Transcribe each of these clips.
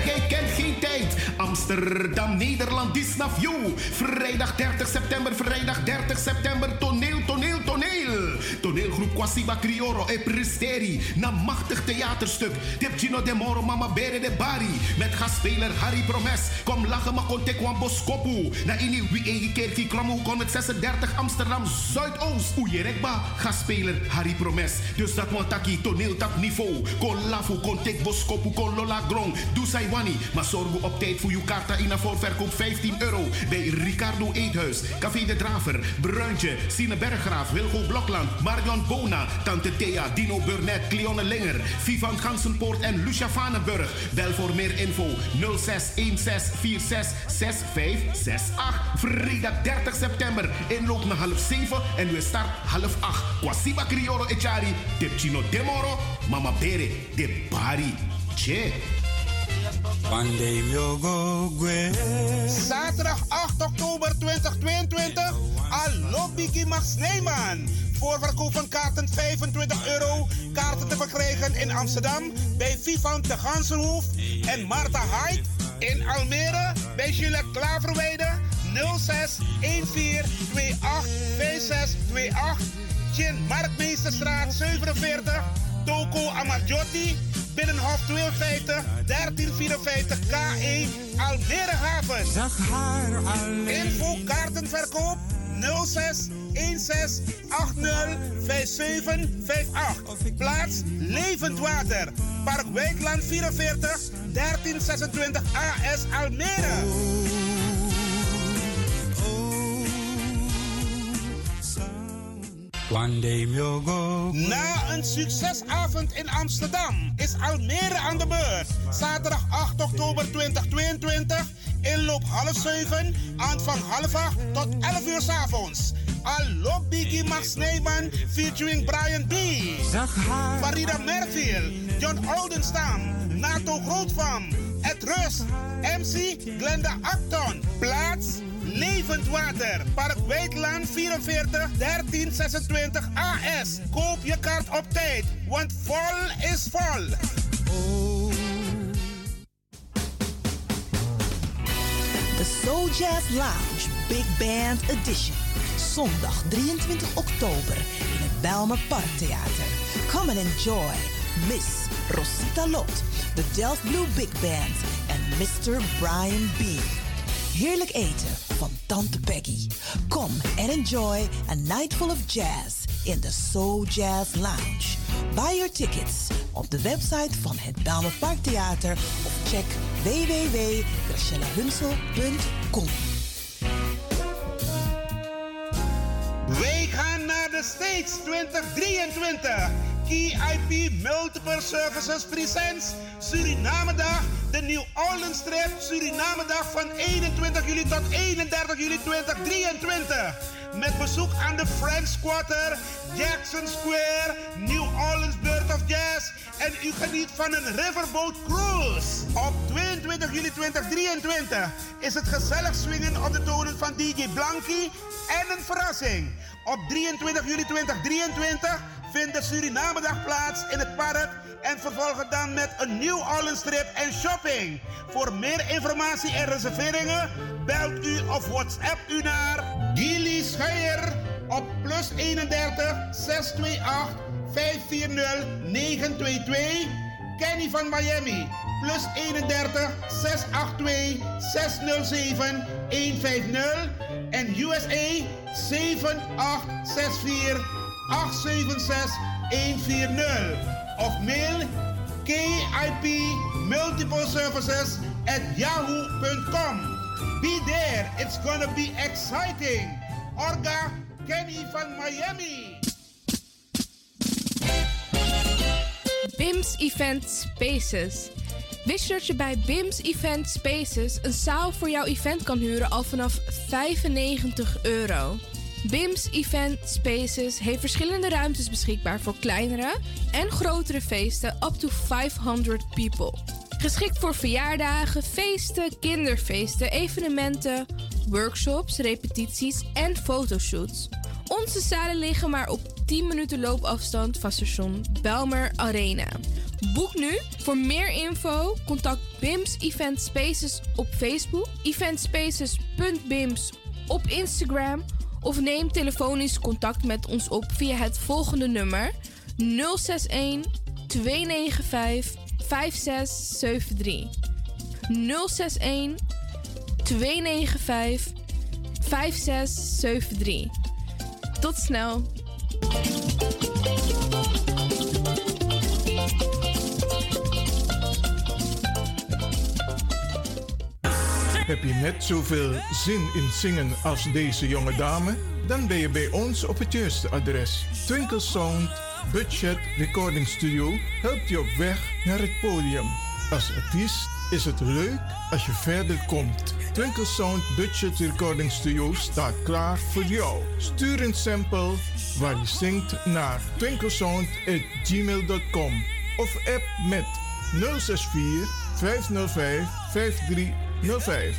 Gezelligheid kent geen tijd. Amsterdam, Nederland, is naar you. Vrijdag 30 september, toneel. Toneelgroep Kwasiba Crioro e Presteri. Na machtig theaterstuk. Tipchino de Moro, Mama Bere de Bari. Met gastspeler Harry Promes. Kom lachen, maar kon tekwan boskopu. Na ini wie eigen kerkie kromo kon met 36 Amsterdam Zuidoost. Oejerekba, gastspeler Harry Promes. Dus dat want taki toneeltap niveau. Kon lafu, kon tek boskopu, kon lola grong. Doe sai wani. Maar zorg op tijd voor uw kaarta in een voorverkoop €15. Bij Ricardo Eethuis, Café de Draver, Bruintje, Sine Berggraaf, Wilgo Blokland, Marion Bona, Tante Thea, Dino Burnett, Cleone Linger, Vivan Gansenpoort en Lucia Vanenburg. Bel voor meer info 0616466568. Vrijdag 30 september. Inloop naar 6:30 en we start 7:30. Kwasiba Crioro Echari, Tipchino Demoro, Mama Bere, de Bari. Che. Zaterdag 8 oktober 2022. Alobiki Max Neyman. Voorverkoop van kaarten €25. Kaarten te verkrijgen in Amsterdam bij Vivan de Gansenhoef en Marta Hyde. In Almere bij Juliette Klaverweide 06 14 28 5628. Chin Marktmeesterstraat 47. Toko Amarjotti. Binnenhof 52 1354 K1 Almere Haven. Info kaartenverkoop 06 16 80 5758. Plaats Levend Water. Park Wijkland 44 1326 AS Almere. Na een succesavond in Amsterdam is Almere aan de beurt. Zaterdag 8 oktober 2022. Inloop 6:30, aanvang 7:30 tot 11 uur 's avonds. Allo Biggie Max Neyman featuring Brian B. Farida Merfield, John Oldenstam, Nato Grootvam, Ed Rust, MC Glenda Acton. Plaats Levend Water, Park Wijkland 44 1326 AS. Koop je kaart op tijd, want vol is vol. The Soul Jazz Lounge Big Band Edition. Zondag 23 oktober in het Bijlmer Parktheater. Come and enjoy Miss Rosita Lot, de Delft Blue Big Band en Mr. Brian B. Heerlijk eten van Tante Peggy. Come and enjoy a night full of jazz in the Soul Jazz Lounge. Buy your tickets op de website van het Bijlmer Parktheater of check www.gracielahunsel.com. Wij gaan naar de States 2023. KIP Multiple Services presents Surinamedag, de New Orleans Trip Surinamedag van 21 juli tot 31 juli 2023. Met bezoek aan de French Quarter, Jackson Square, New Orleans Birth of Jazz en u geniet van een riverboat cruise. Op 22 juli 2023 is het gezellig swingen op de tonen van DJ Blanky en een verrassing. Op 23 juli 2023 vindt de Surinamedag plaats in het park en vervolgen dan met een New Orleans trip en shopping. Voor meer informatie en reserveringen belt u of WhatsApp u naar Gilly Scheier op +31 628 540 922. Kenny van Miami +31 682 607 150 en USA 7864 876 140 of mail KIP Multiple Services @yahoo.com. Be there, it's gonna be exciting. Orga Kenny van Miami. BIMS Event Spaces. Wist je dat je bij BIMS Event Spaces een zaal voor jouw event kan huren al vanaf €95? BIMS Event Spaces heeft verschillende ruimtes beschikbaar voor kleinere en grotere feesten up to 500 people. Geschikt voor verjaardagen, feesten, kinderfeesten, evenementen, workshops, repetities en fotoshoots. Onze zalen liggen maar op 10 minuten loopafstand van station Bijlmer Arena. Boek nu. Voor meer info BIMS Event Spaces op Facebook, eventspaces.bims op Instagram of neem telefonisch contact met ons op via het volgende nummer 061 295 5673. 061 295 5673. Tot snel. Heb je net zoveel zin in zingen als deze jonge dame? Dan ben je bij ons op het juiste adres. Twinkle Sound Budget Recording Studio helpt je op weg naar het podium. Als artiest is het leuk als je verder komt. Twinkle Sound Budget Recording Studio staat klaar voor jou. Stuur een sample waar je zingt naar twinklesound@gmail.com of app met 064 505 5305.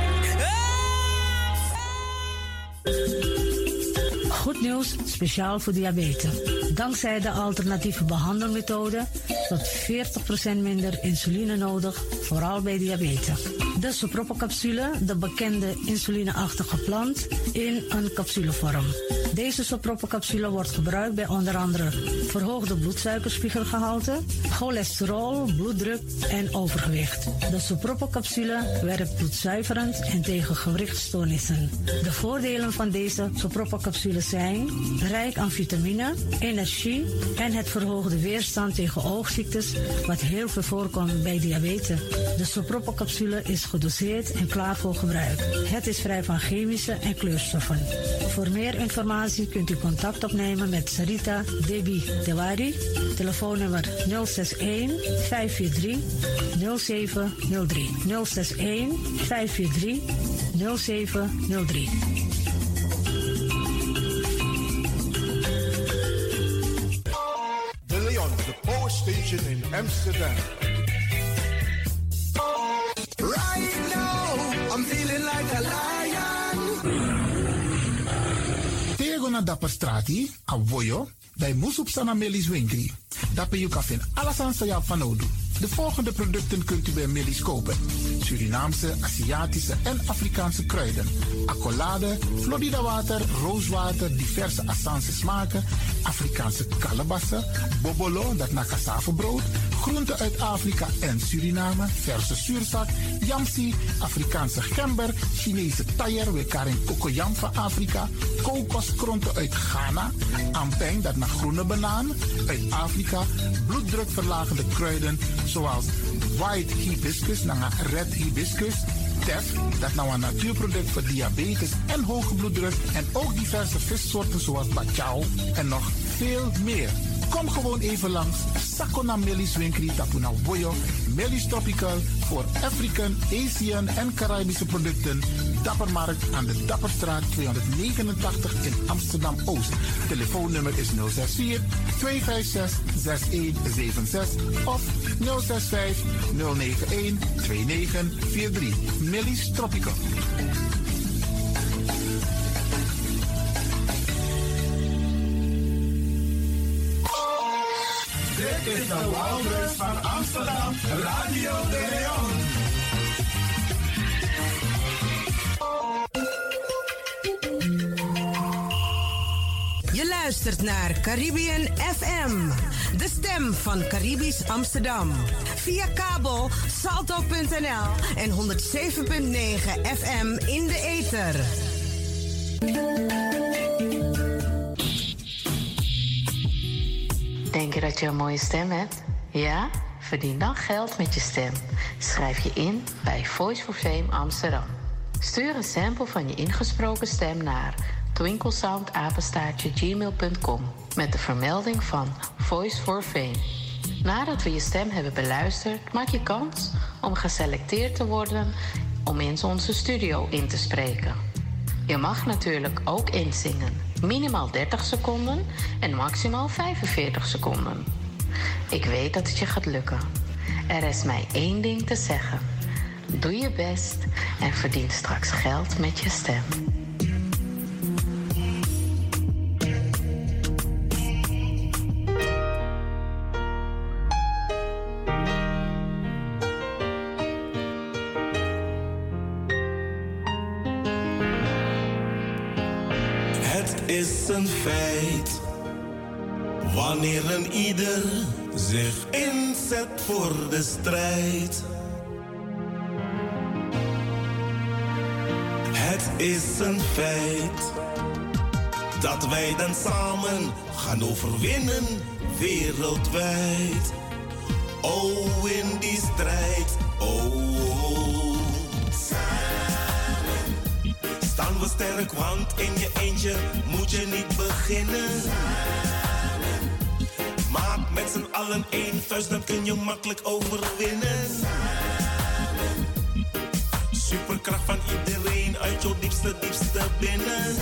Goed nieuws, speciaal voor diabetes. Dankzij de alternatieve behandelmethode tot 40% minder insuline nodig, vooral bij diabetes. De Sopropocapsule, de bekende insulineachtige plant, in een capsulevorm. Deze Sopropocapsule wordt gebruikt bij onder andere verhoogde bloedsuikerspiegelgehalte, cholesterol, bloeddruk en overgewicht. De Sopropocapsule werkt bloedzuiverend en tegen gewrichtstoornissen. De voordelen van deze Sopropocapsule zijn rijk aan vitamine, energie en het verhoogde weerstand tegen oogziektes, wat heel veel voorkomt bij diabetes. De Sopropocapsule is gedoseerd en klaar voor gebruik. Het is vrij van chemische en kleurstoffen. Voor meer informatie kunt u contact opnemen met Sarita Debi Dewari. Telefoonnummer 061 543 0703. 061 543 0703. De Leon, de Power Station in Amsterdam. Right now, I'm feeling like a lion. Tego na dapper strati, a voyo, bij Moesop Sana Melis Winkri. Dapper you kan vinden alles aan sa van Odu. De volgende producten kunt u bij Melis kopen: Surinaamse, Aziatische en Afrikaanse kruiden, accolade, Florida water, rooswater, diverse Assange smaken, Afrikaanse kalebassen, bobolo, dat na cassavebrood, groenten uit Afrika en Suriname, verse zuurzak, yamsi, Afrikaanse gember, Chinese taier, wekaring kokoyam van Afrika, kokoskronten uit Ghana, ampeng, dat naar groene banaan, uit Afrika, bloeddrukverlagende kruiden zoals white hibiscus, naar red hibiscus, tef, dat nou een natuurproduct voor diabetes en hoge bloeddruk, en ook diverse vissoorten zoals bachao en nog veel meer. Kom gewoon even langs. Sakona Melis Winkri Tapuna Boyo. Melis Tropical voor African, Asian en Caribische producten. Dappermarkt aan de Dapperstraat 289 in Amsterdam-Oost. Telefoonnummer is 064 256 6176 of 065 091 2943. Melis Tropical. Dit is de Wouders van Amsterdam, Radio de Leon. Je luistert naar Caribbean FM, de stem van Caribisch Amsterdam. Via kabel salto.nl en 107.9 FM in de ether. Denk je dat je een mooie stem hebt? Ja? Verdien dan geld met je stem. Schrijf je in bij Voice for Fame Amsterdam. Stuur een sample van je ingesproken stem naar twinklesoundapenstaartje@gmail.com met de vermelding van Voice for Fame. Nadat we je stem hebben beluisterd, maak je kans om geselecteerd te worden om in onze studio in te spreken. Je mag natuurlijk ook inzingen. Minimaal 30 seconden en maximaal 45 seconden. Ik weet dat het je gaat lukken. Er is mij één ding te zeggen. Doe je best en verdien straks geld met je stem. is een feit. Wanneer een ieder zich inzet voor de strijd. Het is een feit dat wij dan samen gaan overwinnen wereldwijd. Oh, in die strijd, oh. Samen staan we sterk, want in je eentje moet je niet beginnen. Samen maak met z'n allen één vuist, dan kun je makkelijk overwinnen. Samen superkracht van iedereen uit jouw diepste binnen.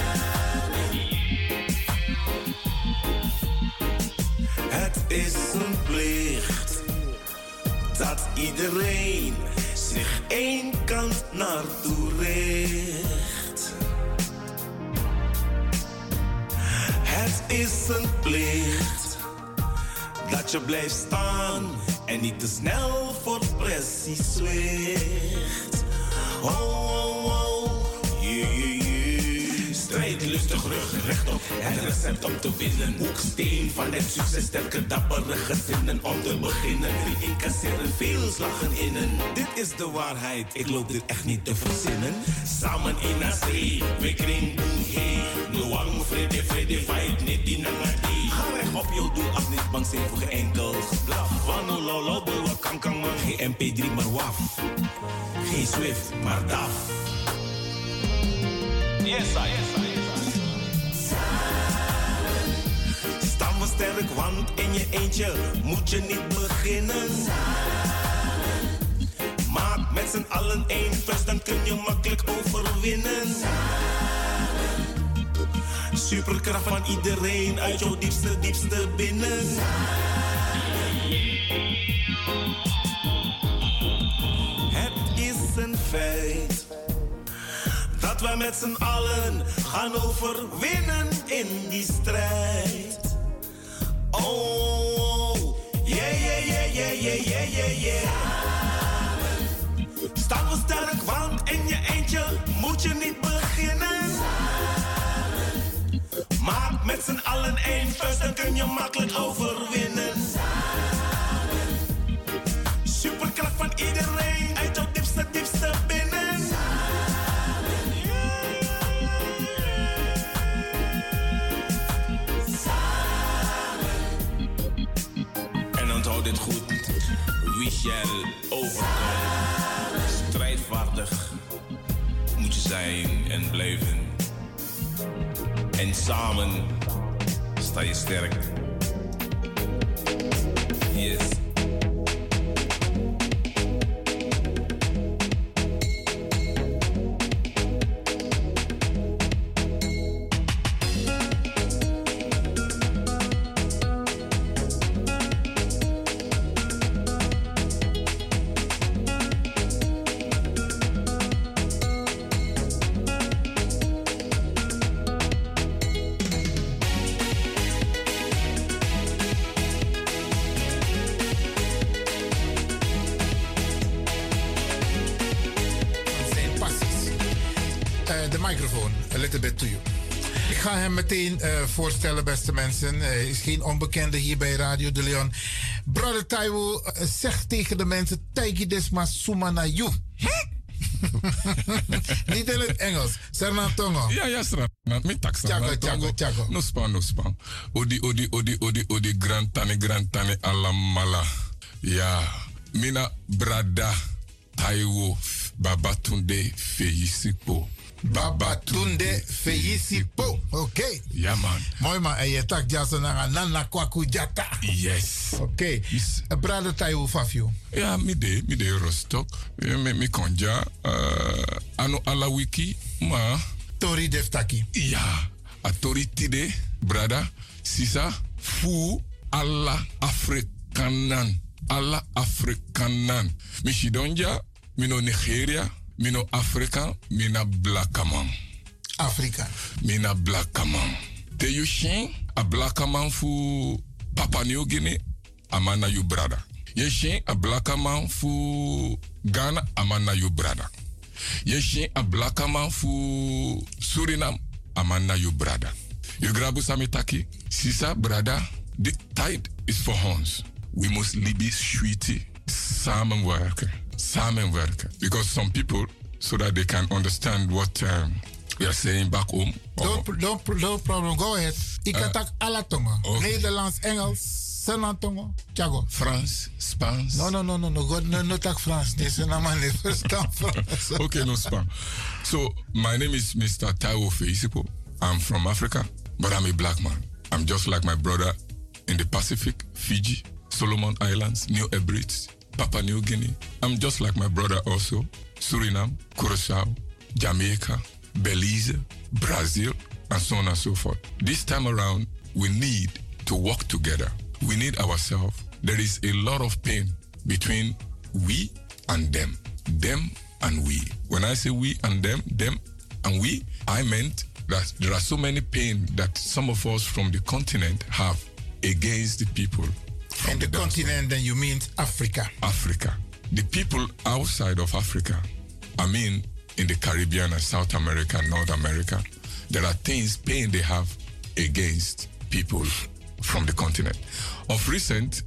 Het is een plicht dat iedereen zich één kant naartoe richt. Het is een plicht dat je blijft staan en niet te snel voor pressie zwicht. Oh, oh, oh, yeah, yeah, yeah. Strijd lustig, rug rechtop, het recept om te winnen. Hoeksteen van het succes, sterke dappere gezinnen om te beginnen. Die incasseren veel slagen innen. Dit is de waarheid, ik loop dit echt niet te verzinnen. Samen in een zee, we kring boem heen. Noang, vrede, fight, niet die nangadi. Ga recht op jouw doel af, niet bang zijn voor geen enkel geblaf. Van no lolo, bulwa kankan man, geen MP3 maar waf. Geen Swift, maar DAF. Yes, I, yes, I, yes, I. Samen staan we sterk, want in je eentje moet je niet beginnen. Samen maak met z'n allen één vuist, dan kun je makkelijk overwinnen. Samen superkracht van iedereen uit jouw diepste binnen. Het is een feit dat wij met z'n allen gaan overwinnen in die strijd. Oh, yeah, yeah, yeah, yeah, yeah, yeah, yeah, yeah. Samen staan we sterk, want in je eentje moet je niet beginnen. Samen maak met z'n allen één vuist, dan kun je makkelijk overwinnen. Samen superkracht van iedereen uit jouw diepste binnen. Onthoud dit goed, wie shall overkomen. Strijdvaardig moet je zijn en blijven. En samen sta je sterk. Yes. Ik ga hem meteen voorstellen, beste mensen. Hij is geen onbekende hier bij Radio de Leon. Brother Taiwo zegt tegen de mensen: Taigi desma sumana you. Niet in het Engels. Serna tongo. Ja, Serna. Mi taksa. Chago. No span. Odi grantane alamala. Ja. Mina brada Taiwo Babatunde Feisipo. Babatunde Feisipo. Oké. Ja, man. Mooi, man. En je tak jasa na nana kwaku jata. Yes. Oké. Brother Taiwo Fafio. Ja, mi de Rostok. Mi konja. Ano ala wiki. Ma. Tori deftaki. Ja. A tori tide. Brada. Sisa. Fu. Alla Afrikanan. Alla Afrikanan. Mi shidonja. Mino Nigeria. Mino Afrika, mina blakaman. Afrika. Mina blakaman. Te yushin, a blakaman fu Papua New Guinea, amana you brada. Yeshin, a blakaman fu Ghana, amana you brada. Yeshin, a blakaman fu Suriname, amana you brada. You grabu samitaki, sisa, brada, the tide is for ons. We must libi sweetie, samenwerken. Because some people, so that they can understand what we are saying back home. No problem, go ahead. Ik kan tak alle tongen. Nederlands, Engels, Senatongo, Chago. Frans, Spaans. No tak Frans. Deze naam niet verstaan Frans. Okay, no Spaans. So, my name is Mr. Taiwo Feisipo. I'm from Africa, but I'm a black man. I'm just like my brother in the Pacific, Fiji, Solomon Islands, New Hebrides, Papua New Guinea. I'm just like my brother also, Suriname, Curaçao, Jamaica, Belize, Brazil, and so on and so forth. This time around, we need to work together. We need ourselves. There is a lot of pain between we and them and we. When I say we and them and we, I meant that there are so many pain that some of us from the continent have against the people. And the continent, then you mean Africa? Africa. The people outside of Africa, I mean in the Caribbean and South America, North America, there are pain they have against people from the continent. Of recent,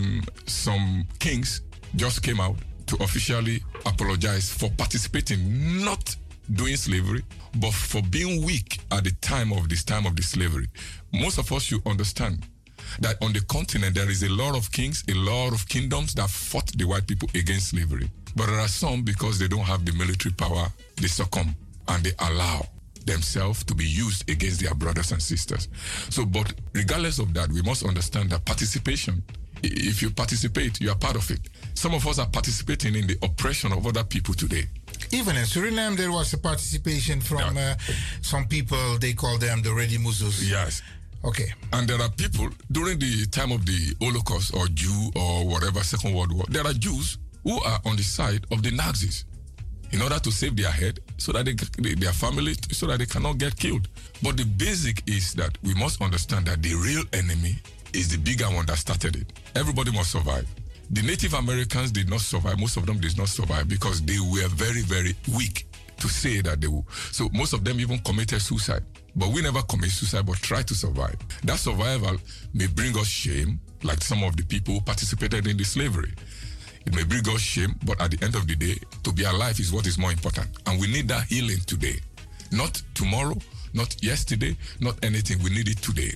some kings just came out to officially apologize for participating, not doing slavery, but for being weak at the time of the slavery. Most of us should understand that on the continent there is a lot of kings, a lot of kingdoms that fought the white people against slavery. But there are some, because they don't have the military power, they succumb and they allow themselves to be used against their brothers and sisters. So, but regardless of that, we must understand that participation, if you participate, you are part of it. Some of us are participating in the oppression of other people today. Even in Suriname, there was a participation from some people, they call them the Ready Muzus. Yes. Okay. And there are people, during the time of the Holocaust or Jew or whatever, Second World War, there are Jews who are on the side of the Nazis in order to save their head so that their family, so that they cannot get killed. But the basic is that we must understand that the real enemy is the bigger one that started it. Everybody must survive. The Native Americans did not survive. Most of them did not survive because they were very, very weak to say that they will. So most of them even committed suicide. But we never commit suicide, but try to survive. That survival may bring us shame, like some of the people who participated in the slavery. It may bring us shame, but at the end of the day, to be alive is what is more important. And we need that healing today. Not tomorrow, not yesterday, not anything. We need it today.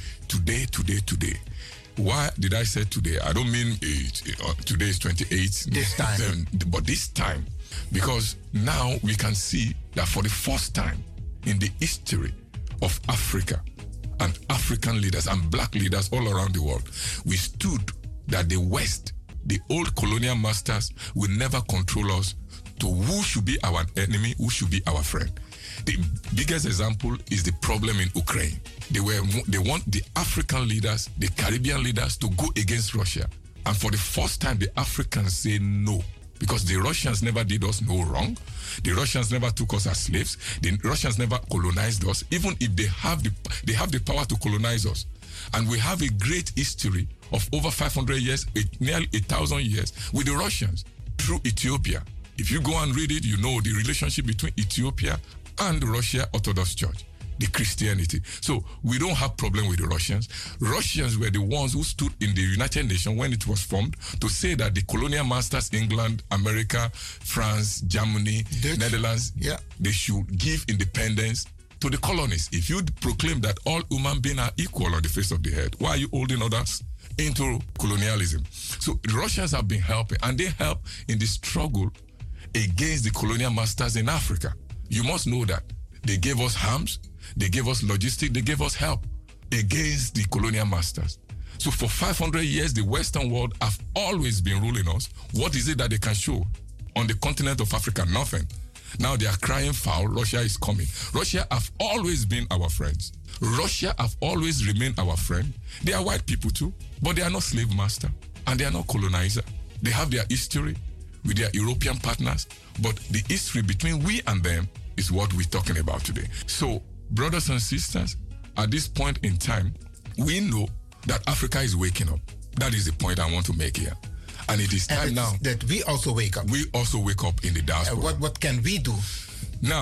Today. Why did I say today? I don't mean today is 28th. This time. But this time. Because now we can see that for the first time in the history of Africa and African leaders and black leaders all around the world, we stood that the West, the old colonial masters, will never control us to who should be our enemy, who should be our friend. The biggest example is the problem in Ukraine. They want the African leaders, the Caribbean leaders to go against Russia. And for the first time, the Africans say no. Because the Russians never did us no wrong. The Russians never took us as slaves. The Russians never colonized us, even if they have the power to colonize us. And we have a great history of over 500 years, nearly 1,000 years with the Russians through Ethiopia. If you go and read it, you know the relationship between Ethiopia and the Russia Orthodox Church, the Christianity. So we don't have problem with the Russians. Russians were the ones who stood in the United Nations when it was formed to say that the colonial masters, England, America, France, Germany, Dutch, Netherlands, they should give independence to the colonies. If you proclaim that all human beings are equal on the face of the earth, why are you holding others into colonialism? So the Russians have been helping, and they help in the struggle against the colonial masters in Africa. You must know that they gave us arms, they gave us logistics, they gave us help against the colonial masters. So for 500 years, the Western world have always been ruling us. What is it that they can show on the continent of Africa? Nothing. Now they are crying foul. Russia is coming. Russia have always been our friends. Russia have always remained our friend. They are white people too, but they are not slave master and they are not colonizer. They have their history with their European partners, but the history between we and them is what we're talking about today. So, brothers and sisters, at this point in time, we know that Africa is waking up. That is the point I want to make here. And it is time now that we also wake up. We also wake up in the diaspora. What can we do? Now,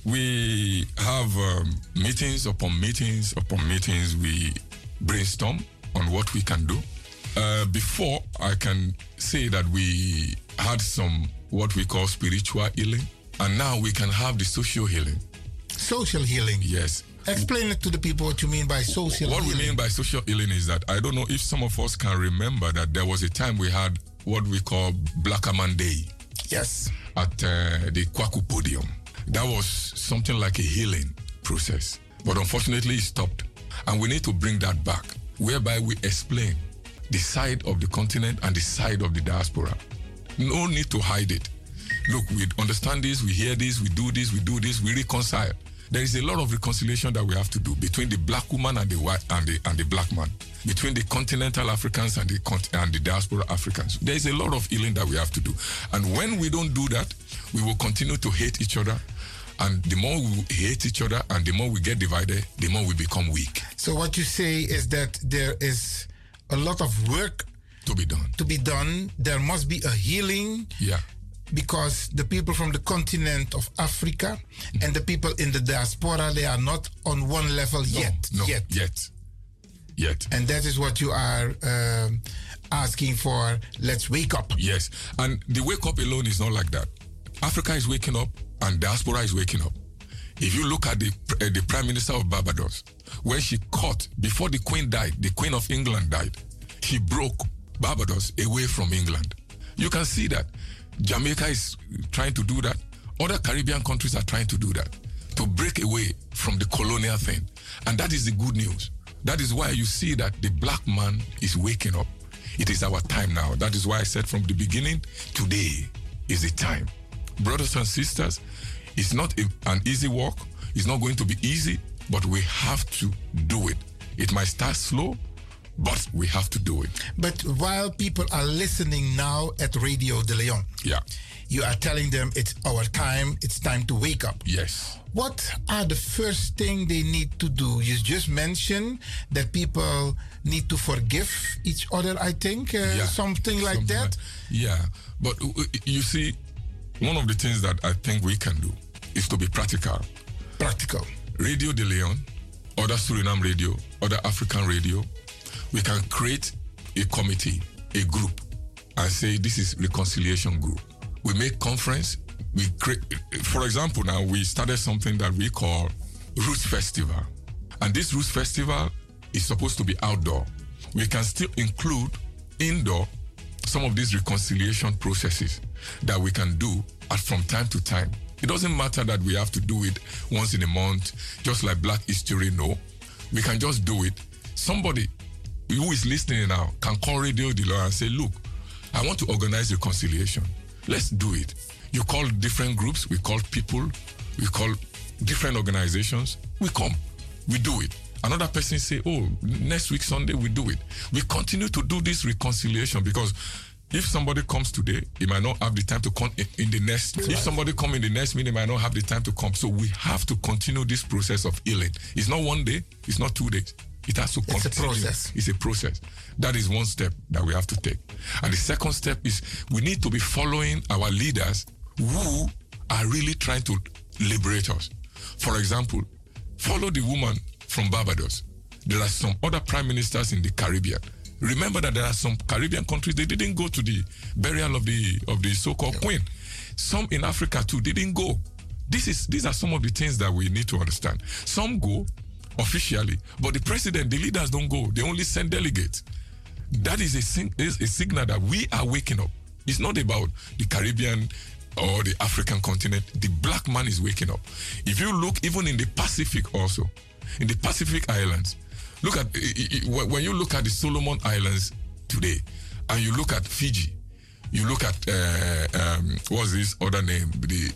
We have meetings upon meetings upon meetings. We brainstorm on what we can do. Before, I can say that we had some what we call spiritual healing, and now we can have the social healing. Social healing? Yes. Explain it to the people what you mean by social healing. What we mean by social healing is that I don't know if some of us can remember that there was a time we had what we call Black Man Day. Yes. At the Kwaku Podium. That was something like a healing process. But unfortunately, it stopped. And we need to bring that back, whereby we explain the side of the continent and the side of the diaspora. No need to hide it. Look, we understand this, we hear this, we do this, we reconcile. There is a lot of reconciliation that we have to do between the black woman and the white and the black man, between the continental Africans and the diaspora Africans. There is a lot of healing that we have to do. And when we don't do that, we will continue to hate each other. And the more we hate each other and the more we get divided, the more we become weak. So what you say is that there is a lot of work to be done. There must be a healing. Yeah. Because the people from the continent of Africa and the people in the diaspora, they are not on one level yet. And that is what you are asking for. Let's wake up. Yes. And the wake up alone is not like that. Africa is waking up and diaspora is waking up. If you look at the Prime Minister of Barbados, when she caught, before the Queen died, the Queen of England died, she broke Barbados away from England. You can see that. Jamaica is trying to do that. Other Caribbean countries are trying to do that, to break away from the colonial thing. And that is the good news. That is why you see that the black man is waking up. It is our time now. That is why I said from the beginning, today is the time. Brothers and sisters, it's not an easy walk. It's not going to be easy, but we have to do it. It might start slow, but we have to do it. But while people are listening now at Radio De Leon, you are telling them it's our time, it's time to wake up. Yes. What are the first thing they need to do? You just mentioned that people need to forgive each other, I think, something like that. But you see, one of the things that I think we can do is to be practical. Radio De Leon, other Suriname radio, other African radio, we can create a committee, a group, and say this is reconciliation group. We make conference. We create, for example, now we started something that we call Roots Festival, and this Roots Festival is supposed to be outdoor. We can still include indoor some of these reconciliation processes that we can do from time to time. It doesn't matter that we have to do it once in a month, just like Black History. No, we can just do it. Somebody who is listening now can call Radio De Leon and say, look, I want to organize reconciliation. Let's do it. You call different groups, we call people, we call different organizations. We come, we do it. Another person say, oh, next week Sunday we do it. We continue to do this reconciliation because if somebody comes today, he might not have the time to come in the next. If somebody come in the next meeting, he might not have the time to come. So we have to continue this process of healing. It's not one day, it's not 2 days. It has to continue. It's a process. It's a process. That is one step that we have to take. And the second step is we need to be following our leaders who are really trying to liberate us. For example, follow the woman from Barbados. There are some other prime ministers in the Caribbean. Remember that there are some Caribbean countries, they didn't go to the burial of the so-called queen. Some in Africa too didn't go. These are some of the things that we need to understand. Some go officially, but the president, the leaders don't go. They only send delegates. That is a signal that we are waking up. It's not about the Caribbean or the African continent. The black man is waking up. If you look even in the Pacific also, in the Pacific Islands, look at, when you look at the Solomon Islands today, and you look at Fiji, you look at, what's this other name?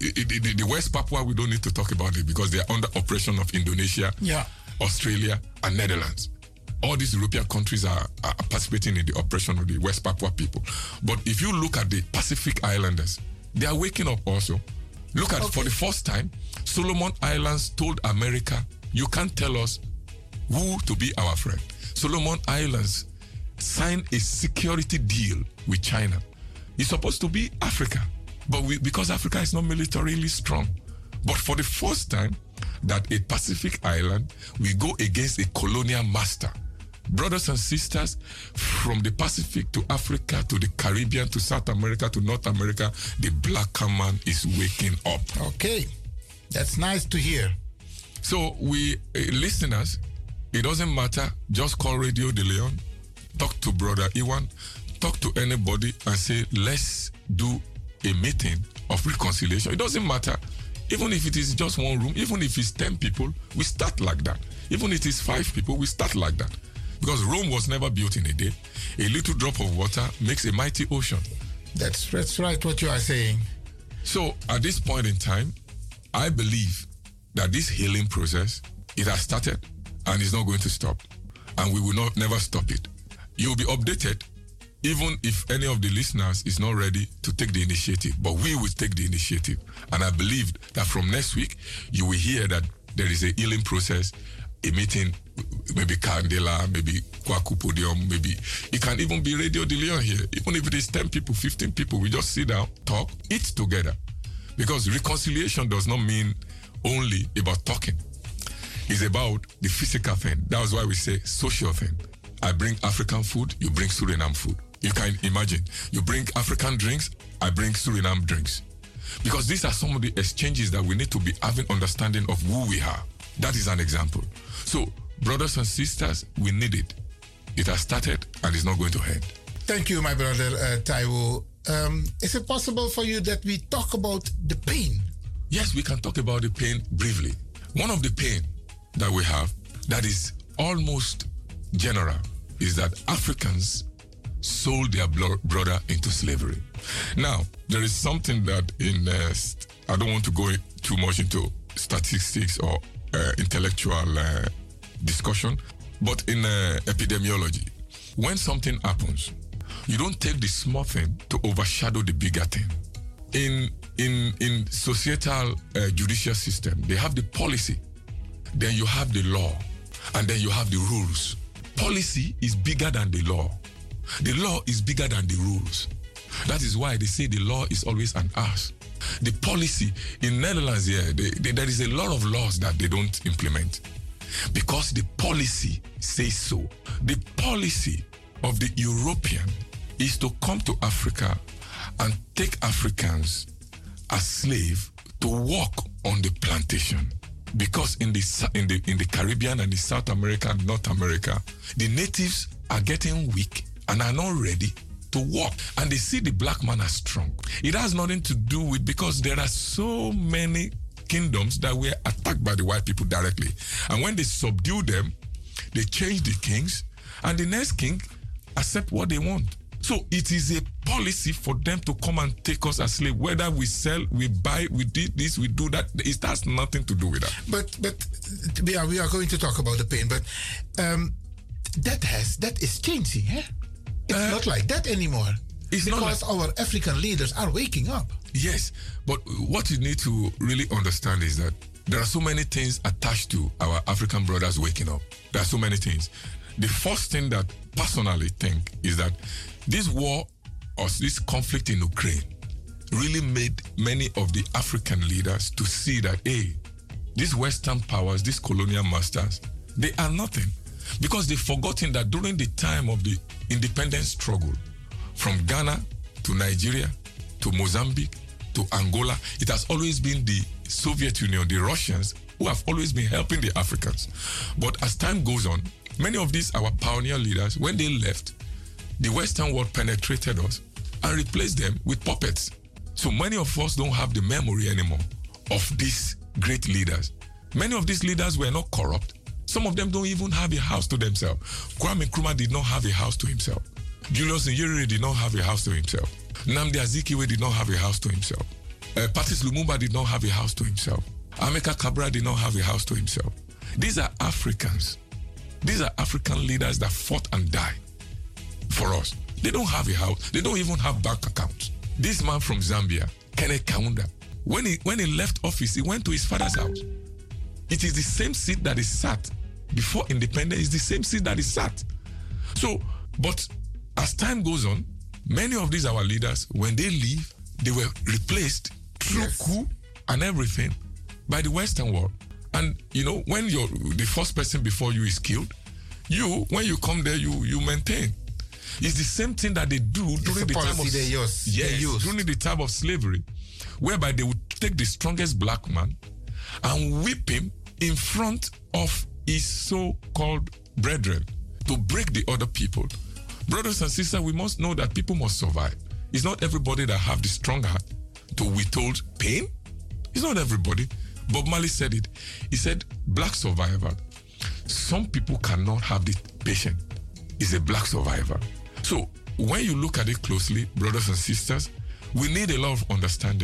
The West Papua, we don't need to talk about it because they are under operation of Indonesia, Australia, and Netherlands. All these European countries are participating in the operation of the West Papua people. But if you look at the Pacific Islanders, they are waking up also. Look at, for the first time, Solomon Islands told America, you can't tell us who to be our friend. Solomon Islands signed a security deal with China. It's supposed to be Africa. But because Africa is not militarily strong, But for the first time that a Pacific island will go against a colonial master. Brothers and sisters, from the Pacific to Africa to the Caribbean to South America to North America, the black man is waking up. Okay, that's nice to hear. So we listeners, it doesn't matter, just call Radio De Leon, talk to Brother Iwan, talk to anybody and say, let's do a meeting of reconciliation. It doesn't matter. Even if it is just one room, even if it's 10 people, we start like that. Even if it is 5 people, we start like that. Because Rome was never built in a day. A little drop of water makes a mighty ocean. That's right what you are saying. So at this point in time, I believe that this healing process, it has started and is not going to stop. And we will never stop it. You'll be updated even if any of the listeners is not ready to take the initiative. But we will take the initiative. And I believe that from next week, you will hear that there is a healing process, a meeting, maybe Candela, maybe Kwaku Podium, maybe it can even be Radio De Leon here. Even if it is 10 people, 15 people, we just sit down, talk, eat together. Because reconciliation does not mean only about talking. It's about the physical thing. That's why we say social thing. I bring African food, you bring Suriname food. You can imagine. You bring African drinks, I bring Suriname drinks. Because these are some of the exchanges that we need to be having understanding of who we are. That is an example. So, brothers and sisters, we need it. It has started and it's not going to end. Thank you, my brother Taiwo. Is it possible for you that we talk about the pain? Yes, we can talk about the pain briefly. One of the pain that we have that is almost general is that Africans sold their brother into slavery. Now, there is something that I don't want to go too much into statistics or intellectual discussion, but in epidemiology, when something happens, you don't take the small thing to overshadow the bigger thing. In societal judicial system, they have the policy, then you have the law, and then you have the rules. Policy is bigger than the law. The law is bigger than the rules. That is why they say the law is always an ass. The policy in Netherlands here, there is a lot of laws that they don't implement because the policy says so. The policy of the European is to come to Africa and take Africans as slaves to work on the plantation. Because in the Caribbean and the South America and North America, the natives are getting weak and are not ready to work. And they see the black man as strong. It has nothing to do with, because there are so many kingdoms that were attacked by the white people directly. And when they subdue them, they change the kings, and the next king accept what they want. So it is a policy for them to come and take us as slaves. Whether we sell, we buy, we did this, we do that, it has nothing to do with that. But we are going to talk about the pain. But that is changing, eh? It's not like that anymore. It's because our African leaders are waking up. Yes, but what you need to really understand is that there are so many things attached to our African brothers waking up. There are so many things. The first thing that personally think is that this war or this conflict in Ukraine really made many of the African leaders to see that, hey, these Western powers, these colonial masters, they are nothing. Because they've forgotten that during the time of the independence struggle, from Ghana to Nigeria to Mozambique to Angola, it has always been the Soviet Union, the Russians, who have always been helping the Africans. But as time goes on, many of these, our pioneer leaders, when they left, the Western world penetrated us and replaced them with puppets. So many of us don't have the memory anymore of these great leaders. Many of these leaders were not corrupt. Some of them don't even have a house to themselves. Kwame Nkrumah did not have a house to himself. Julius Nyerere did not have a house to himself. Nnamdi Azikiwe did not have a house to himself. Patrice Lumumba did not have a house to himself. Amilcar Cabral did not have a house to himself. These are Africans. These are African leaders that fought and died for us. They don't have a house. They don't even have bank accounts. This man from Zambia, Kenneth Kaunda, when he left office, he went to his father's house. It is the same seat that he sat before independence. It's the same seat that he sat. So, but as time goes on, many of these our leaders, when they leave, they were replaced through coup and everything by the Western world. And, you know, when the first person before you is killed, when you come there, you maintain. It's the same thing that they do during the time of... they use. During the time of slavery, whereby they would take the strongest black man and whip him in front of his so-called brethren to break the other people. Brothers and sisters, we must know that people must survive. It's not everybody that have the strong heart to withhold pain. It's not everybody. Bob Marley said it. He said, black survivor. Some people cannot have the patience. It's a black survivor. So when you look at it closely, brothers and sisters, we need a lot of understanding.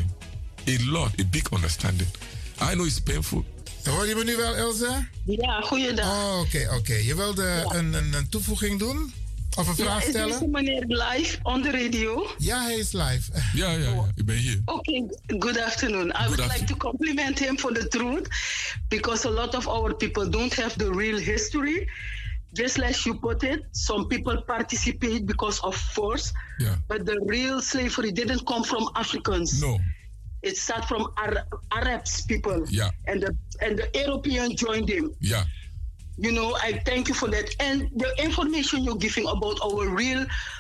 A big understanding. I know it's painful. Hoor je me nu wel, Elsa? Ja, goeiedag. Oh, oké. Je wilde een toevoeging doen? Of een vraag stellen? Is meneer live on the radio? Ja, hij is live. Ja, ik ben hier. Okay, good afternoon. I would like to compliment him for the truth, because a lot of our people don't have the real history. Just like you put it, some people participate because of force, but the real slavery didn't come from Africans. No. It started from Arabs people. Yeah. And the Europeans joined them. Yeah. You know, I thank you for that. And the information you're giving about our real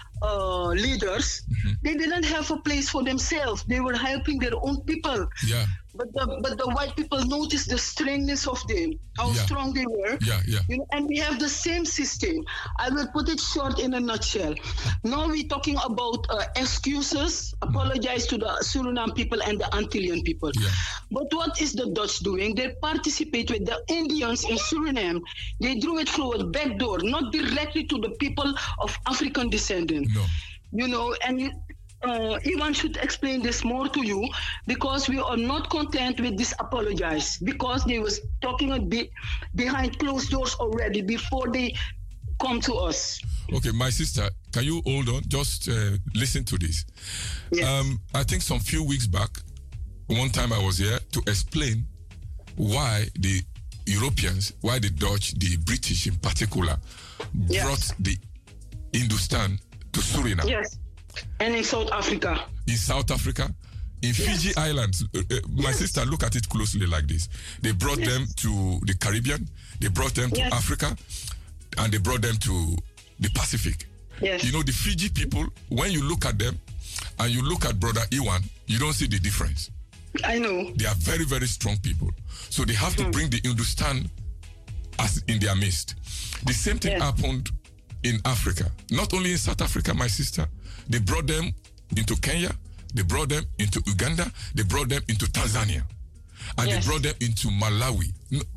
leaders, they didn't have a place for themselves. They were helping their own people. Yeah. But the white people noticed the strengness of them, how strong they were. Yeah. You know, and we have the same system. I will put it short in a nutshell. Now we're talking about excuses, apologize to the Suriname people and the Antillean people. Yeah. But what is the Dutch doing? They participate with the Indians in Suriname. They drew it through a back door, not directly to the people of African descent. No. You know, and Iwan should explain this more to you, because we are not content with this apologize, because they was talking a bit behind closed doors already before they come to us. Okay, my sister, can you hold on? Just listen to this. Yes. I think some few weeks back, one time I was here to explain why the Europeans, why the Dutch, the British in particular, brought the Hindustan to Suriname. Yes. And in South Africa. In South Africa, in Fiji Islands. My sister, look at it closely like this. They brought them to the Caribbean, they brought them to Africa, and they brought them to the Pacific. Yes. You know, the Fiji people, when you look at them and you look at Brother Iwan, you don't see the difference. I know. They are very, very strong people. So they have to bring the Hindustan as in their midst. The same thing happened in Africa. Not only in South Africa, my sister. They brought them into Kenya, they brought them into Uganda, they brought them into Tanzania, and they brought them into Malawi,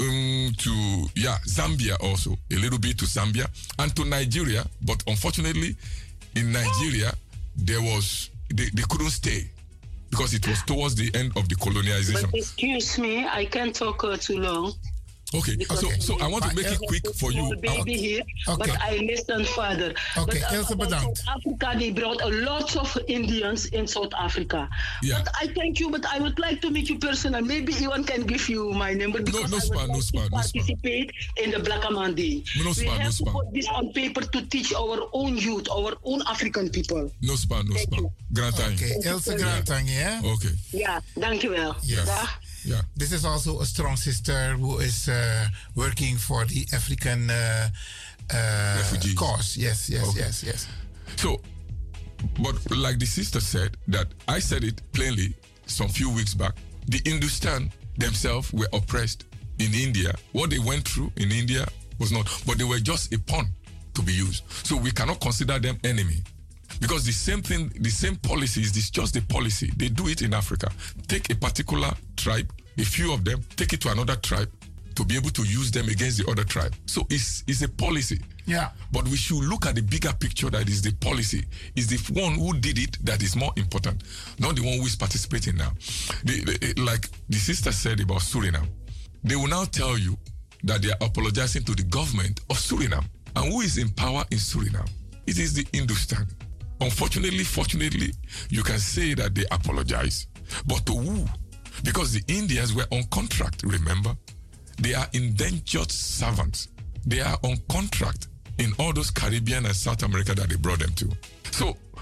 to Zambia also, a little bit to Zambia, and to Nigeria. But unfortunately, in Nigeria, they couldn't stay because it was towards the end of the colonialization. But excuse me, I can't talk too long. Okay, so I want to make it quick for you. Baby here, but I listen further. Okay, Elsa, bedankt. South Africa, they brought a lot of Indians in South Africa. Yeah. But I thank you, but I would like to make you personal. Maybe Iwan can give you my number, because I would like to participate in the Black Man Day. We have to put this on paper to teach our own youth, our own African people. No span. Okay, Elsa Grantang, yeah? Okay. Yeah, dankjewel. Yes. Yeah. This is also a strong sister who is working for the African refugees cause. Yes. So, but like the sister said, that I said it plainly some few weeks back, the Hindustan themselves were oppressed in India. What they went through in India was not, but they were just a pawn to be used. So we cannot consider them enemy. Because the same thing, the same policy is just the policy. They do it in Africa. Take a particular tribe, a few of them, take it to another tribe to be able to use them against the other tribe. So it's a policy. Yeah. But we should look at the bigger picture that is the policy. It's the one who did it that is more important, not the one who is participating now. Like the sister said about Suriname, they will now tell you that they are apologizing to the government of Suriname. And who is in power in Suriname? It is the Hindustan. Unfortunately, fortunately, you can say that they apologize. But to who? Because the Indians were on contract, remember? They are indentured servants. They are on contract in all those Caribbean and South America that they brought them to. So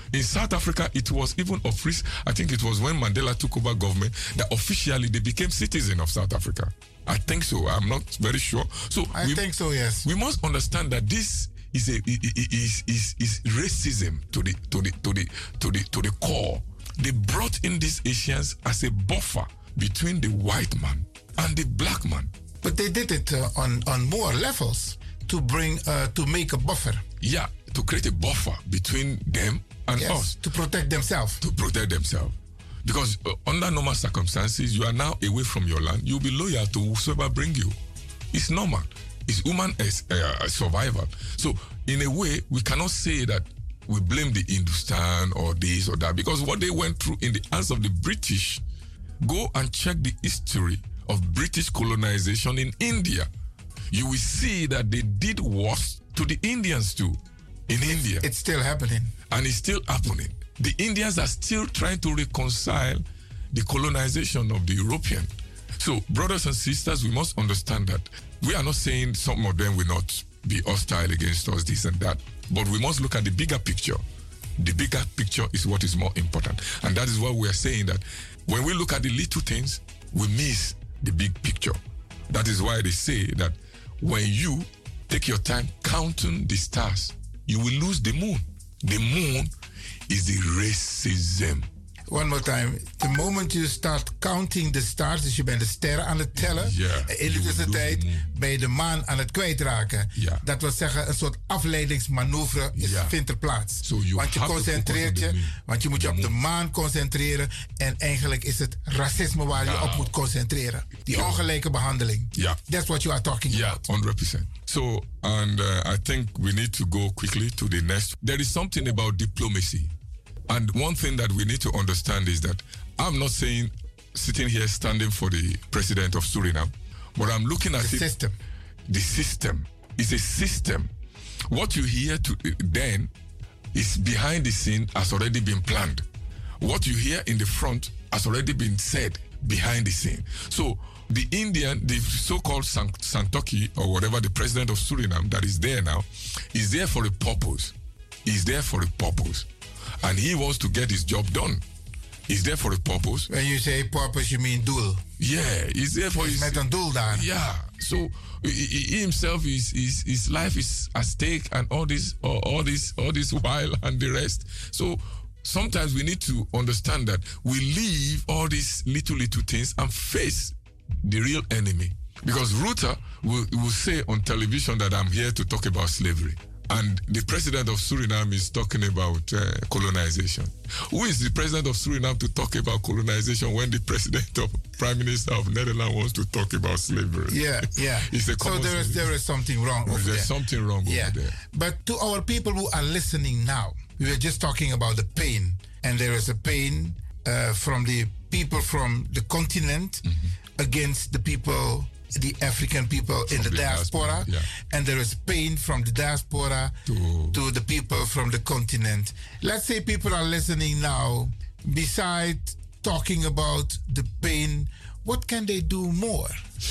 In South Africa, it was even I think it was when Mandela took over government that officially they became citizens of South Africa. I think so. I'm not very sure. So I think so. Yes. We must understand that this is racism to the core. They brought in these Asians as a buffer between the white man and the black man. But they did it on more levels to make a buffer. Yeah, to create a buffer between them and us. To protect themselves. Because under normal circumstances, you are now away from your land. You'll be loyal to whosoever bring you. It's normal. It's human survival. So, in a way, we cannot say that we blame the Hindustan or this or that, because what they went through in the hands of the British, go and check the history of British colonization in India. You will see that they did worse to the Indians too in India. It's still happening. And it's still happening. The Indians are still trying to reconcile the colonization of the European. So, brothers and sisters, we must understand that we are not saying some of them will not be hostile against us, this and that. But we must look at the bigger picture. The bigger picture is what is more important. And that is what we are saying, that when we look at the little things, we miss the big picture. That is why they say that when you take your time counting the stars, you will lose the moon. The moon is the racism. One more time. The moment you start counting the stars, dus je bent de sterren aan het tellen. In de tussentijd ben je de maan aan het kwijtraken. Dat wil zeggen, een soort afleidingsmanoeuvre vindt er plaats. Want je concentreert je, want je moet je op de maan concentreren. En eigenlijk is het racisme waar je op moet concentreren. Die ongelijke behandeling. That's what you are talking about. 100%. So, and I think we need to go quickly to the next. There is something about diplomacy. And one thing that we need to understand is that I'm not saying sitting here standing for the president of Suriname, but I'm looking at the system. The system is a system. What you hear then is behind the scene has already been planned. What you hear in the front has already been said behind the scene. So the so-called Santoki, or whatever, the president of Suriname that is there now, is there for a purpose. He's there for a purpose. And he wants to get his job done. He's there for a purpose. When you say purpose, you mean doel? Yeah, he's there for his... Met een doel daar. Yeah, so he himself, his life is at stake, and all this while and the rest. So sometimes we need to understand that we leave all these little things and face the real enemy. Because Ruta will say on television that I'm here to talk about slavery. And the president of Suriname is talking about colonization. Who is the president of Suriname to talk about colonization when the prime minister of Netherlands wants to talk about slavery? Yeah. So there is something wrong over there. There's something wrong over there. But to our people who are listening now, we were just talking about the pain. And there is a pain from the people from the continent against the people, the African people in the diaspora. And there is pain from the diaspora to the people from the continent. Let's say people are listening now. Besides talking about the pain, what can they do more?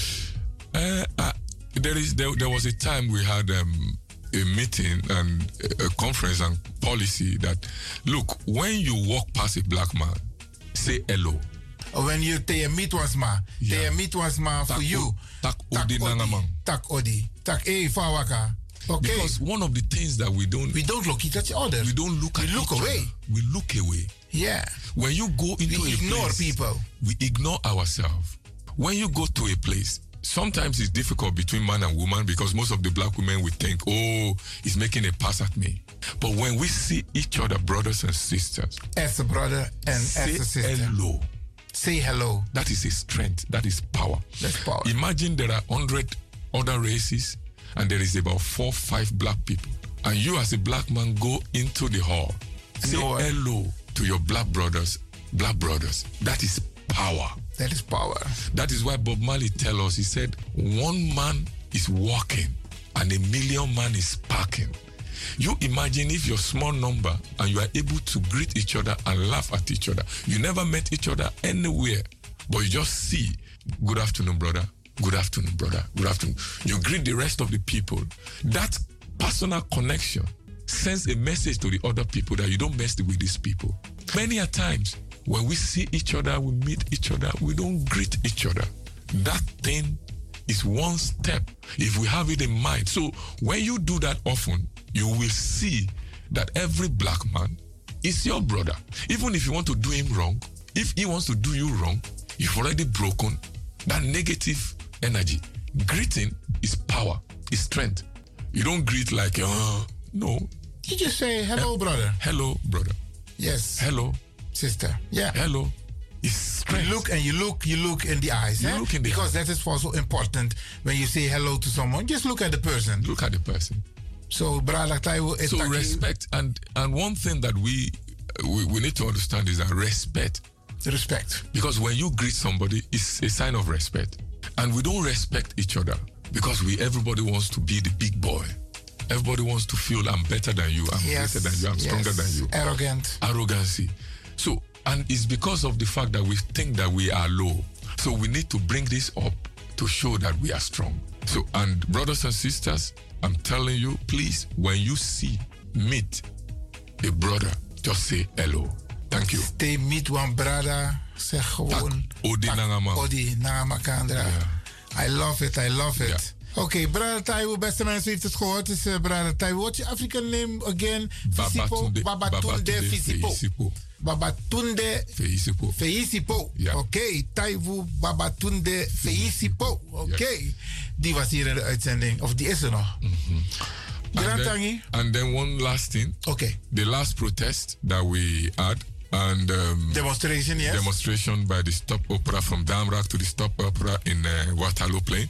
There was a time we had a meeting and a conference and policy that, look, when you walk past a black man, say hello. When you meet once ma, for you. Tak odi nangamang. Tak odi. Tak fawaka. Okay. Because one of the things that we don't look at each other. We don't look at each away. Other. We look away. Yeah. When you go into we ignore place, people. We ignore ourselves. When you go to a place, sometimes it's difficult between man and woman because most of the black women will think, oh, he's making a pass at me. But when we see each other, brothers and sisters, as a brother and as a sister, hello. Say hello. That is a strength. That is power. That's power. Imagine there are 100 other races and there is about 4 or 5 black people. And you as a black man go into the hall. Say hello to your black brothers. That is power. That is power. That is why Bob Marley tell us, he said, 1 man is walking and 1,000,000 man is parking. You imagine if you're small number and you are able to greet each other and laugh at each other. You never met each other anywhere, but you just see, good afternoon, brother. Good afternoon, brother. Good afternoon. You greet the rest of the people. That personal connection sends a message to the other people that you don't mess with these people. Many a times, when we see each other, we meet each other, we don't greet each other. That thing is one step if we have it in mind. So when you do that often, you will see that every black man is your brother. Even if you want to do him wrong, if he wants to do you wrong, you've already broken that negative energy. Greeting is power, is strength. You don't greet like, no. You just say, hello, brother. Hello, brother. Yes. Hello, sister. Yeah. Hello. It's strength. You look in the eyes. Look in the because that is also important when you say hello to someone. Just look at the person. Look at the person. So, brother Taiwo, so respect and one thing that we need to understand is that respect. Respect. Because when you greet somebody, it's a sign of respect. And we don't respect each other because everybody wants to be the big boy. Everybody wants to feel I'm better than you, I'm greater than you, I'm stronger than you. Arrogant. Arrogancy. So, and it's because of the fact that we think that we are low. So we need to bring this up to show that we are strong. So, and brothers and sisters, I'm telling you, please, when you meet a brother, just say hello. Thank you. Stay meet one brother, zeg gewoon. Odi nangama. Odi nangama kandra. I love it. Yeah. Oké, brother Taiwo, beste mensen, heeft het gehoord. Het is brother Taiwo. What's your African name again? Babatunde Feisipo. Babatunde Feisipo. Yeah. Oké, Taiwo Babatunde Feisipo. Oké. Die was hier in de uitzending. Of die is er nog. And then one last thing. Okay. The last protest that we had. And demonstration, yes. Demonstration by the Stop Opera from Damrak to the Stop Opera in Waterloo Plain.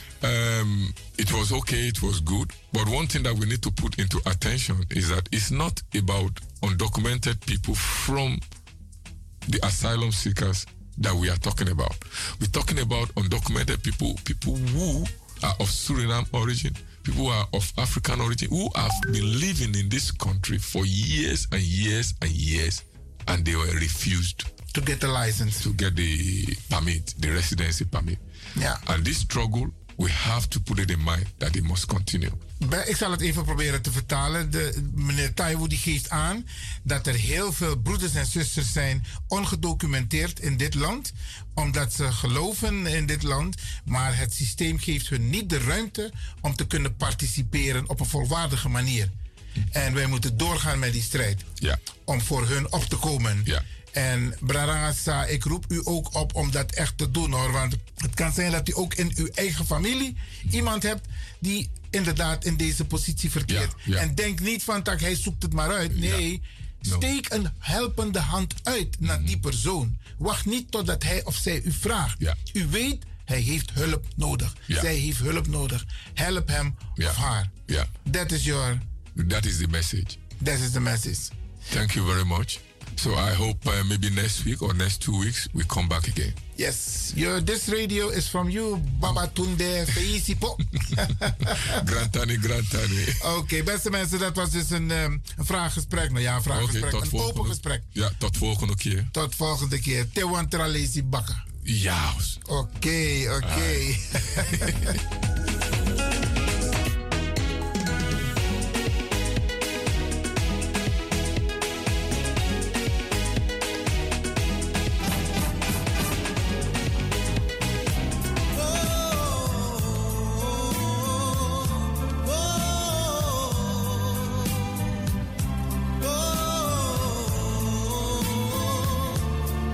It was okay, it was good. But one thing that we need to put into attention is that it's not about undocumented people from the asylum seekers that we are talking about. We're talking about undocumented people who are of Suriname origin, people who are of African origin, who have been living in this country for years and years and years, and they were refused to get the license, to get the permit, the residency permit. Yeah. And this struggle, we have to put it in mind that it must continue. Ik zal het even proberen te vertalen. Meneer Taiwo die geeft aan dat er heel veel broeders en zusters zijn ongedocumenteerd in dit land. Omdat ze geloven in dit land. Maar het systeem geeft hun niet de ruimte om te kunnen participeren op een volwaardige manier. En wij moeten doorgaan met die strijd. Ja. Om voor hun op te komen. Ja. En Brarangasa, ik roep u ook op om dat echt te doen hoor. Want het kan zijn dat u ook in uw eigen familie iemand hebt die inderdaad in deze positie verkeert. Ja. En denk niet van dat hij zoekt het maar uit. Nee, steek een helpende hand uit naar die persoon. Wacht niet totdat hij of zij u vraagt. Ja. U weet, hij heeft hulp nodig. Ja. Zij heeft hulp nodig. Help hem of haar. Ja. That is the message. That is the message. Thank you very much. So I hope maybe next week or next 2 weeks we come back again. Yes, this radio is from you, Babatunde Feisipo. Grantani. Oké, beste mensen, dat was dus een vraaggesprek. Nou ja, een vraaggesprek, een open gesprek. Ja, tot volgende keer. Tot volgende keer. Tewan Tralesi Bakka. Ja. Oké.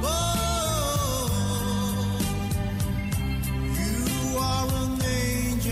You are an angel.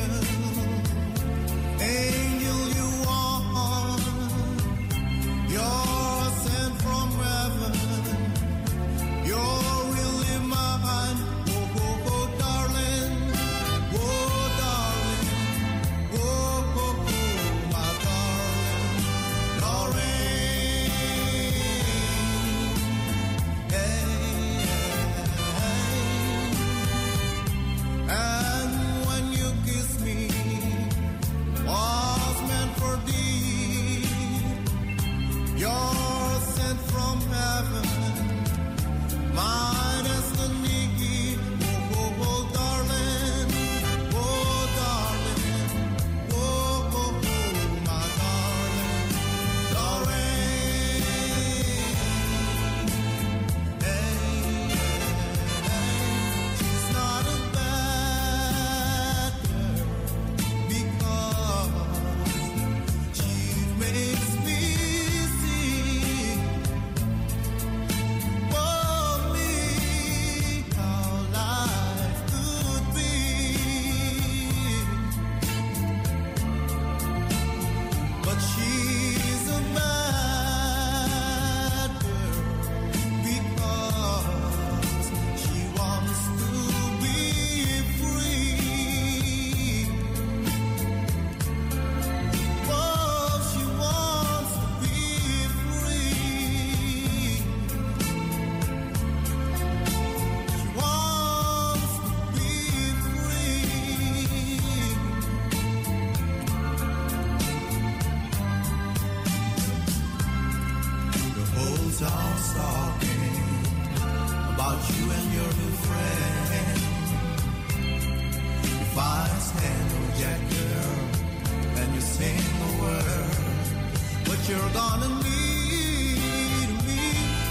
hand, oh Jack girl, and you sing a word, but you're gonna need me.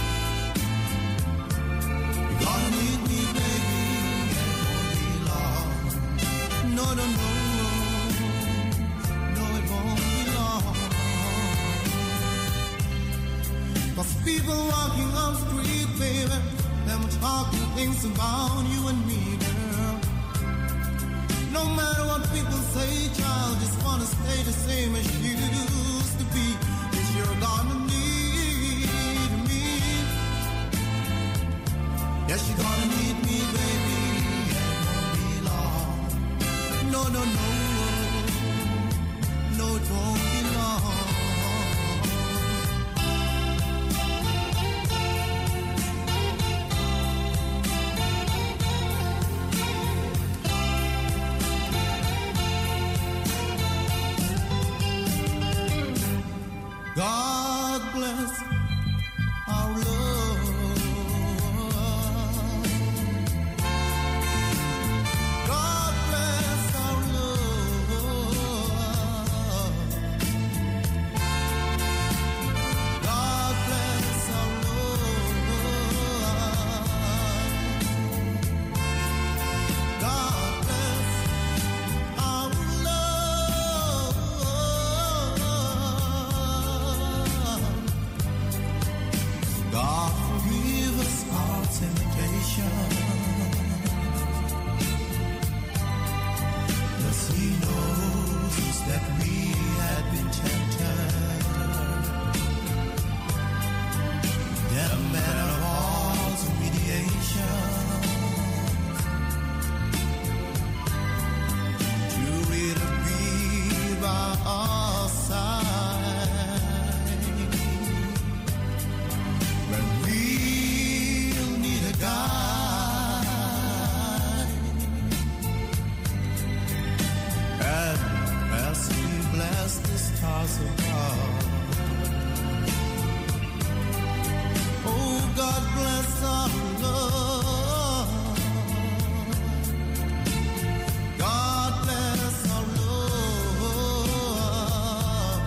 You're gonna need me, baby, it won't be long. No, no, no, no, it won't be long. 'Cause people walking on the street, baby, them talking things about you and me, girl. No matter what people say, child, just wanna stay the same as you used to be. 'Cause you're gonna need me. Yes, you're gonna need me, baby, it won't be long. No, no, no, no, it won't be long. God bless our love. God bless our love. God bless our love. God bless our love. God forgive us our temptation, 'cause He knows that we had been tempted. Then a man of all to mediation, to really be by our side when we'll need a guide. And as we bless the stars above, oh God bless our love. God bless our love.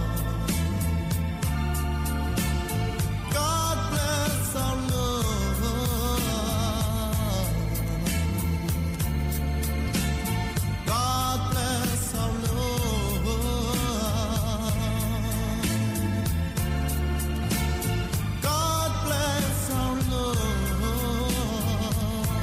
God bless our love. God bless our love. God bless our love.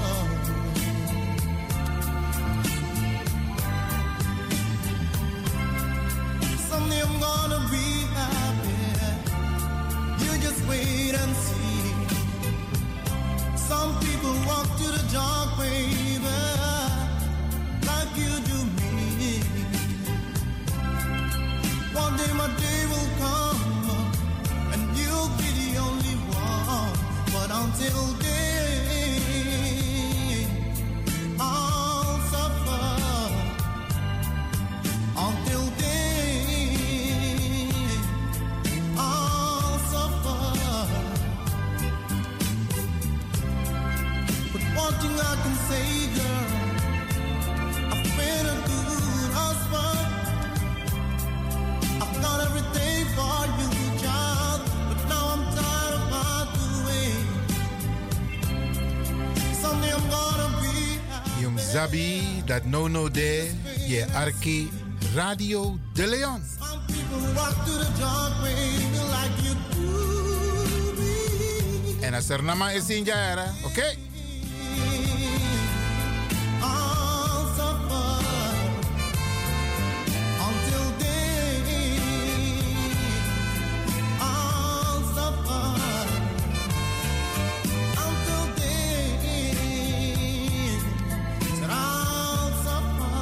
Someday I'm gonna be happy. You just wait and see. Some people walk to the dark, baby, like you do me. One day my day will come, and you'll be the only one. But until then, I'll suffer. Until then, I'll suffer. But one thing I can say, girl, I've been a good husband. I've done everything for you, child, but now I'm tired of my doing. Someday I'm gonna be happy. Yung Zabi, dat no de, ye Arki, Radio de Leon. Some people walk to the dark, baby, like you do me. En als er nama is in jaren, oké? I'll suffer. Until then, I'll suffer. Until then, said I'll suffer.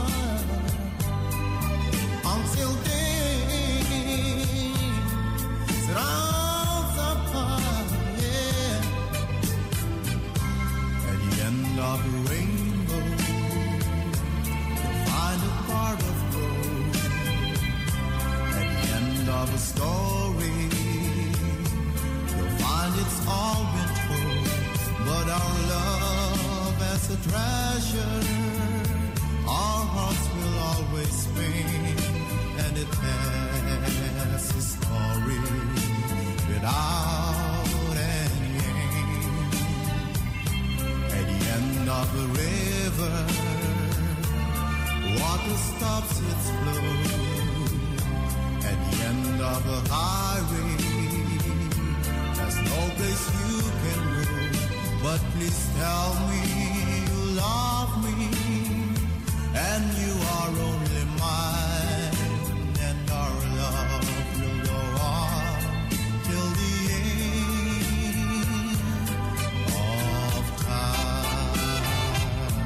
Until then, said I'll suffer. Yeah. At the end of the rainbow, you'll find a part of gold. At the end of a story, you'll find it's all been told. But our love as a treasure, our hearts will always water stops its flow at the end of a highway. There's no place you can go, but please tell me you love me and you are only mine, and our love will go on till the end of time.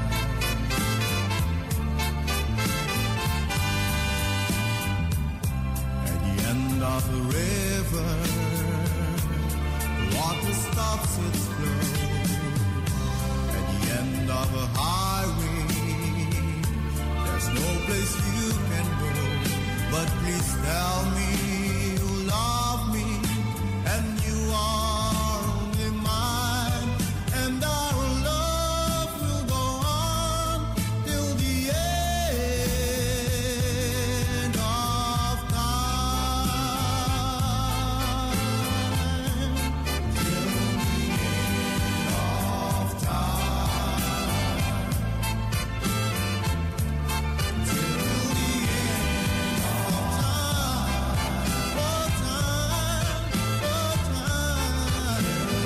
At the end of the river, the water stops its flow. At the end of a highway, there's no place you can go, but please tell me you love me and you are only mine, and our love will go on till the end of time. Till the end of time. Till the end of time. Oh, time, oh, time.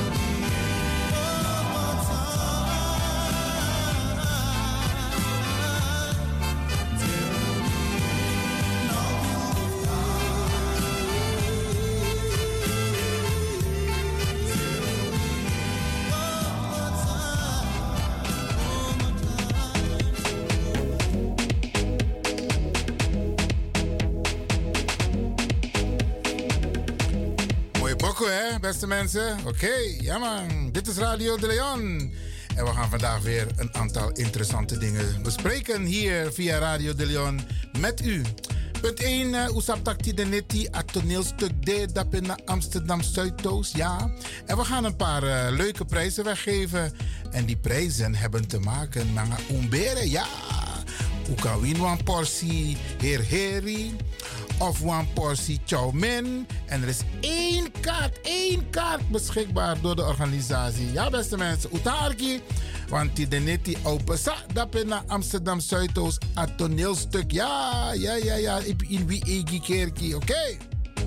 Mooi bokko, hè, beste mensen? Oké, ja man. Dit is Radio de Leon. En we gaan vandaag weer een aantal interessante dingen bespreken hier via Radio de Leon met u. Punt 1, Oesaptakti de Netti, het toneelstuk D, dat in Amsterdam Zuidoost, ja. En we gaan een paar leuke prijzen weggeven. En die prijzen hebben te maken met Umbere, ja. Hoe kan we een portie Heer Heri of een portie Chow Mein. En er is één kaart beschikbaar door de organisatie. Ja, beste mensen, Utaarki. Want die Denetti open dat in Amsterdam Zuidoost het toneelstuk. Ja. In wie egi keerki, oké.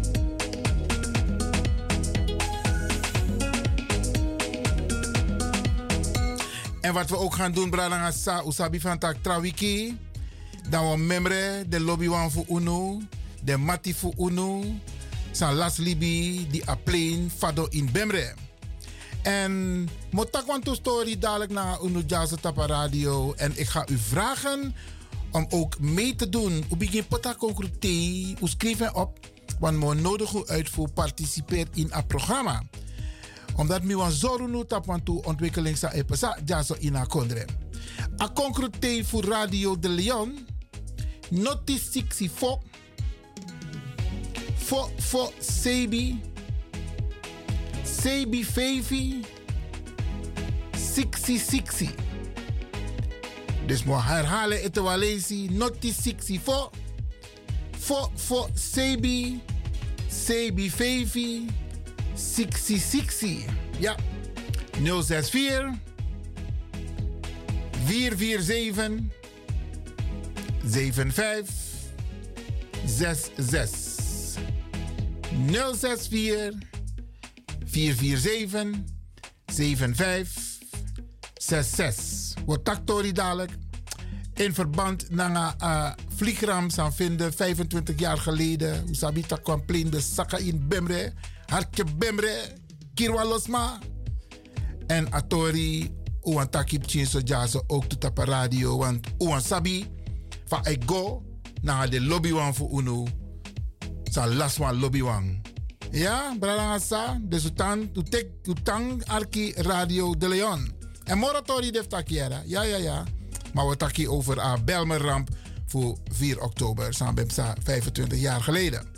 En wat we ook gaan doen, Bradangasa, Usabi van Tak Trawiki. Dan we membre, de lobby wan voor UNO, de mati voor UNO, San Las Libi, die apleen, Fado in Bemre. En motak want to story dadelijk naar UNO Jazz Tapa Radio. En ik ga u vragen om ook mee te doen. U begint pota concrete, u schrijft op, want we nodig uitvoer participeert in het programma. Omdat we want zorgen nu tap want to ontwikkeling sa epesa Jazz in a kondre. A concrete voor Radio de Leon. Noti 64 for Sebi 50 60. Dus we herhalen het Walesi. Noti 64 for Sebi 50 60. Ja. 064 447 7566 064 447 7566. Wat taktori dadelijk in verband met een vliegramp zijn vinden 25 jaar geleden. Hoe sabi tak kwam plein de Saka in Bemre, Hartje Bemre, Kirwa Losma en Atori. Uwan takip chinso jazo ook tot op radio, want uwan sabi van ik go naar de lobby wan voor UNO. Sa last one lobby wan. Ja, bralangasa, dus utang arki Radio de Leon. En moratori def takiera. Ja. Maar we taki over a Belmerramp voor 4 oktober, samen 25 jaar geleden.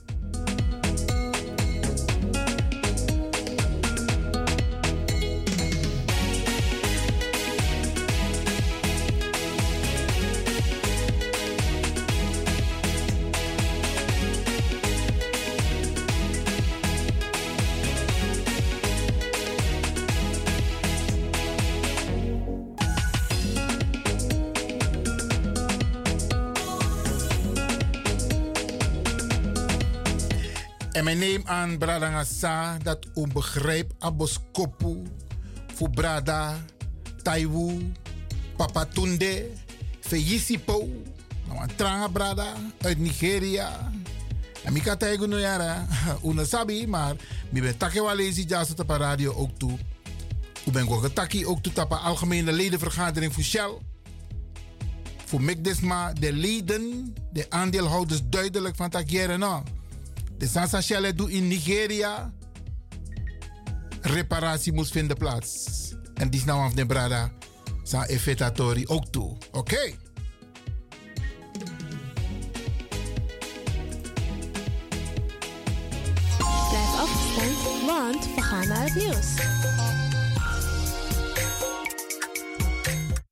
En men neemt aan Bradangasa dat onbegrijp aboskopu voor Brada, Taiwu, Papatunde, Feyisipo, nou een tranga Brada uit Nigeria. En ik had eigenlijk nog jaren, unasabi, maar ik ben takewa lezi jazz op de radio ook toe. Ik ben ook getaki ook toe op de algemene ledenvergadering voor Shell. Voor Mikdesma, de leden, de aandeelhouders duidelijk van takieren nou. De Sansa Shell doet in Nigeria. Reparatie moest vinden plaats. En die is nou af de Brada. Sa effetatori ook toe. Oké. Blijf afgestemd, want we gaan naar het nieuws.